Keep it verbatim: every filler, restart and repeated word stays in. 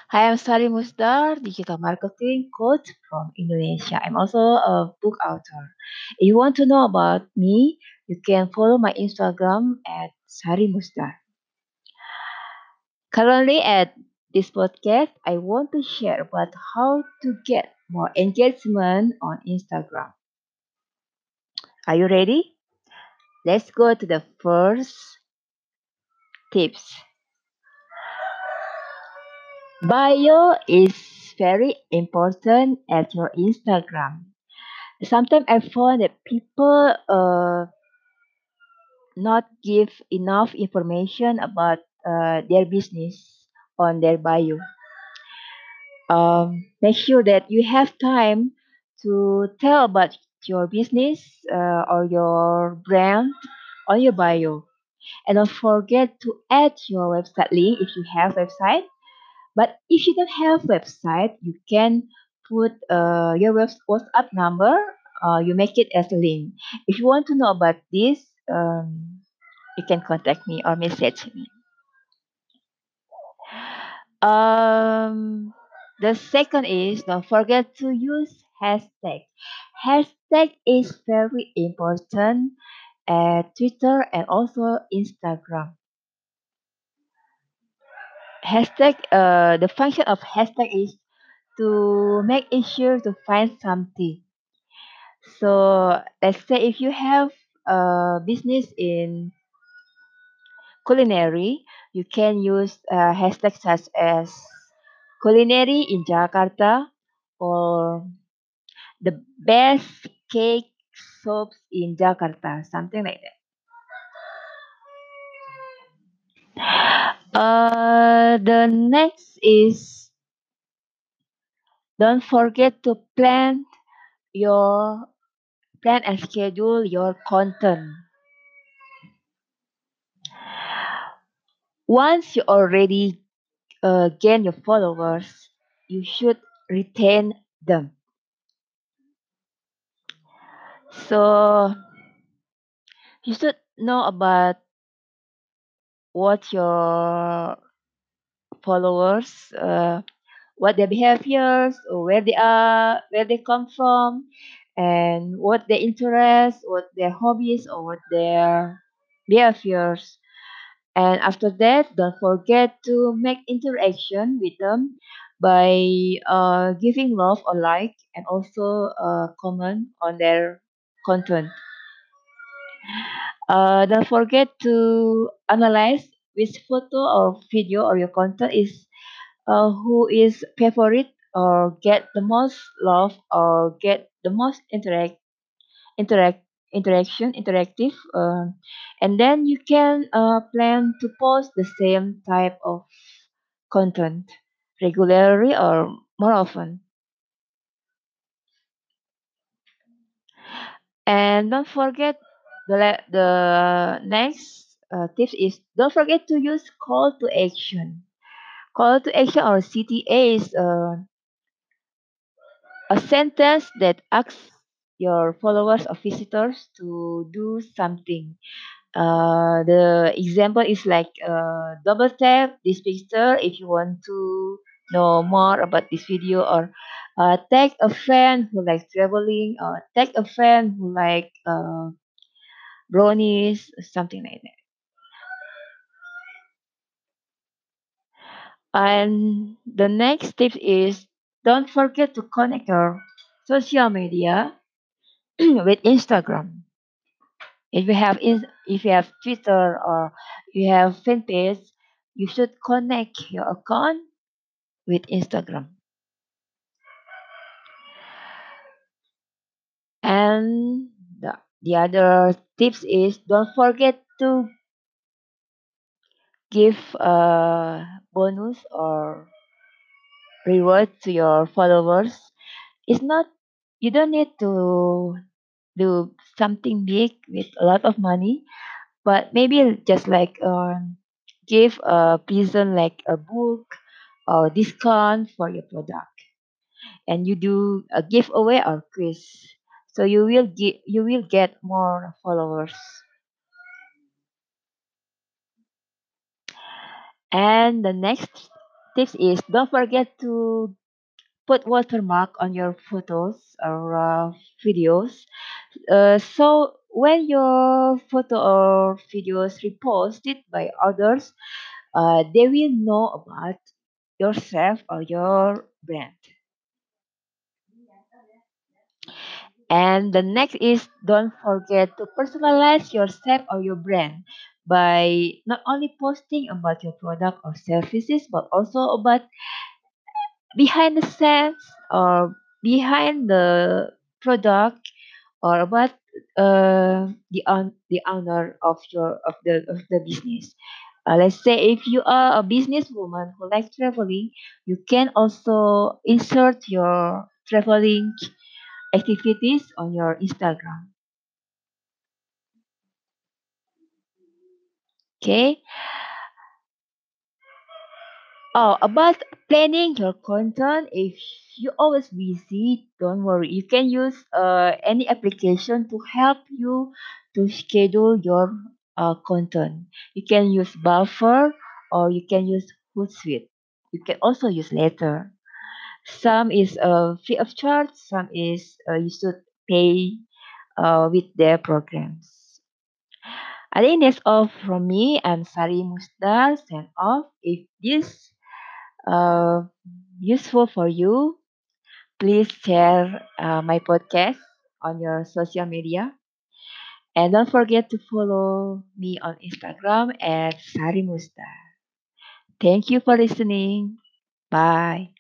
Hi, I'm Sari Musdar, digital marketing coach from Indonesia. I'm also a book author. If you want to know about me, you can follow my Instagram at Sari Musdar. Currently at this podcast, I want to share about how to get more engagement on Instagram. Are you ready? Let's go to the first tips. Bio is very important at your Instagram. Sometimes I find that people uh, not give enough information about uh, their business on their bio. Um, make sure that you have time to tell about your business uh, or your brand on your bio. And don't forget to add your website link if you have website. But if you don't have website, you can put uh, your web- WhatsApp number. Uh, you make it as a link. If you want to know about this, um, you can contact me or message me. Um, the second is don't forget to use hashtag. Hashtag is very important at Twitter and also Instagram. Hashtag, uh, the function of hashtag is to make it sure to find something. So let's say if you have a business in culinary, you can use uh, hashtags such as culinary in Jakarta or the best cake shops in Jakarta, something like that. Uh, the next is don't forget to plan your plan and schedule your content. Once you already uh, gain your followers, you should retain them. So you should know about what your followers, uh, what their behaviors, or where they are, where they come from, and what their interests, what their hobbies, or what their behaviors. And after that, don't forget to make interaction with them by uh, giving love or like and also uh, comment on their content. Uh, don't forget to analyze which photo or video or your content is uh, who is favorite or get the most love or get the most interact interact interaction interactive um, and then you can uh, plan to post the same type of content regularly or more often. And don't forget the la- the next uh, tips is don't forget to use call to action. Call to action or C T A is uh, a sentence that asks your followers or visitors to do something. Uh, the example is like uh, double tap this picture if you want to know more about this video, or uh, tag a friend who likes traveling, or tag a friend who like uh, brownies, something like that. And the next tip is don't forget to connect your social media with Instagram. If you have in, if you have Twitter or you have fan page, you should connect your account with Instagram. And the, the other tips is don't forget to give a bonus or reward to your followers. It's not you don't need to do something big with a lot of money, but maybe just like um, give a present like a book or discount for your product, and you do a giveaway or quiz, so you will get you will get more followers. And the next tips is don't forget to put watermark on your photos or uh, videos. Uh, so when your photo or videos reposted by others, uh, they will know about yourself or your brand. And the next is don't forget to personalize yourself or your brand by not only posting about your product or services, but also about behind the scenes or behind the product or about uh, the on the owner of your of the of the business. Uh, let's say if you are a businesswoman who likes traveling, you can also insert your traveling activities on your Instagram. Okay. Oh, about planning your content, if you always busy, don't worry. You can use uh, any application to help you to schedule your uh, content. You can use Buffer or you can use Hootsuite. You can also use Later. Some is uh, free of charge. Some is uh, you should pay uh, with their programs. I think that's all from me. I'm Sari Musdar. Sign off. If this uh, useful for you, please share uh, my podcast on your social media. And don't forget to follow me on Instagram at Sari Musta. Thank you for listening. Bye.